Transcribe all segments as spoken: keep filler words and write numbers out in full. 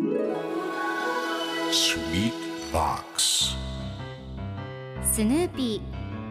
Sweet Box スヌーピ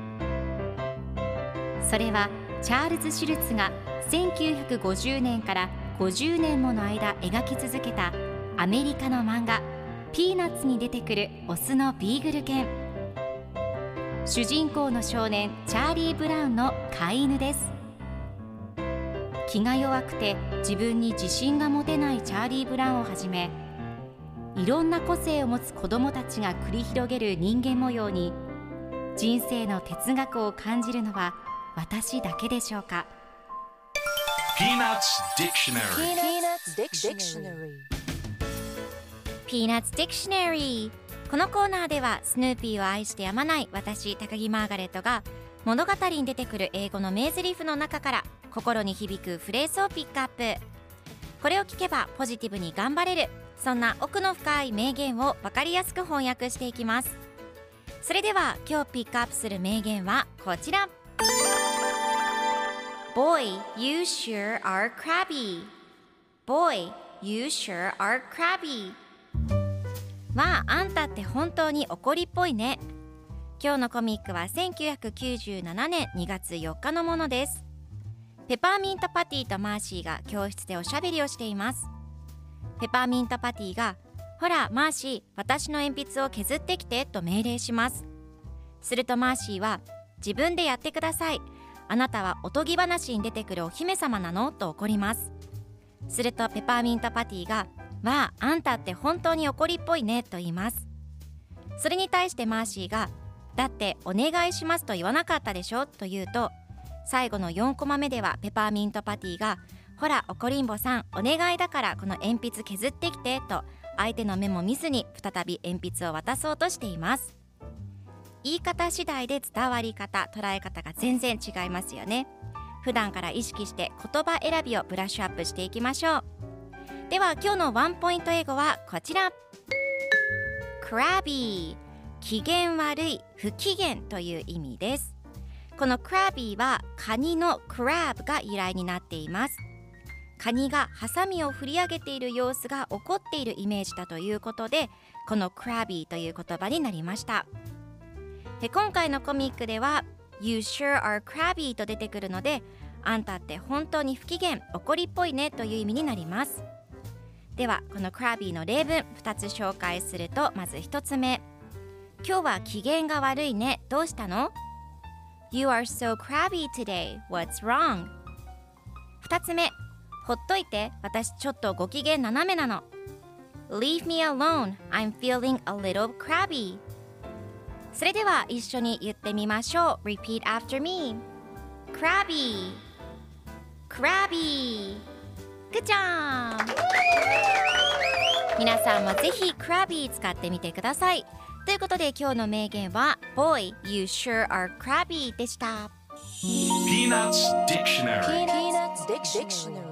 ー。それはチャールズ・シュルツがせんきゅうひゃくごじゅうねんからごじゅうねんもの間描き続けたアメリカの漫画ピーナッツに出てくるオスのビーグル犬。主人公の少年チャーリー・ブラウンの飼い犬です。気が弱くて自分に自信が持てないチャーリー・ブラウンをはじめ、いろんな個性を持つ子どもたちが繰り広げる人間模様に人生の哲学を感じるのは私だけでしょうか。 Peanuts Dictionary Peanuts Dictionary。 このコーナーではスヌーピーを愛してやまない私高木マーガレットが物語に出てくる英語の名台詞の中から心に響くフレーズをピックアップ。これを聞けばポジティブに頑張れる、そんな奥の深い名言を分かりやすく翻訳していきます。それでは今日ピックアップする名言はこちら。 Boy, you sure are crabby. Boy, you sure are crabby。 わあ、あんたって本当に怒りっぽいね。今日のコミックはせんきゅうひゃくきゅうじゅうななねんにがつよっかのものです。ペパーミントパティとマーシーが教室でおしゃべりをしています。ペパーミントパティが、ほらマーシー、私の鉛筆を削ってきてと命令します。するとマーシーは、自分でやってください。あなたはおとぎ話に出てくるお姫様なのと怒ります。するとペパーミントパティが、わあ、あんたって本当に怒りっぽいねと言います。それに対してマーシーが、だってお願いしますと言わなかったでしょと言うと、最後のよんコマ目ではペパーミントパティが、ほら怒りんぼさん、お願いだからこの鉛筆削ってきてと相手の目も見ずに再び鉛筆を渡そうとしています。言い方次第で伝わり方、捉え方が全然違いますよね。普段から意識して言葉選びをブラッシュアップしていきましょう。では今日のワンポイント英語はこちら。 Crabby、 機嫌悪い、不機嫌という意味です。この Crabby はカニの Crab が由来になっています。カニがハサミを振り上げている様子が怒っているイメージだということで、この Crabby という言葉になりました。で、今回のコミックでは You sure are crabby と出てくるので、あんたって本当に不機嫌、怒りっぽいねという意味になります。ではこの Crabby の例文ふたつ紹介すると、まずひとつめ、今日は機嫌が悪いね、どうしたの？ You are so crabby today, what's wrong? ふたつめ、ほっといて、私ちょっとご機嫌斜めなの。 Leave me alone, I'm feeling a little crabby。 それでは一緒に言ってみましょう。 Repeat after me。 Crabby Crabby。 Good job。 皆さんもぜひ Crabby 使ってみてください。ということで今日の名言は Boy, you sure are crabby でした。 Peanuts Dictionary Peanuts Dictionary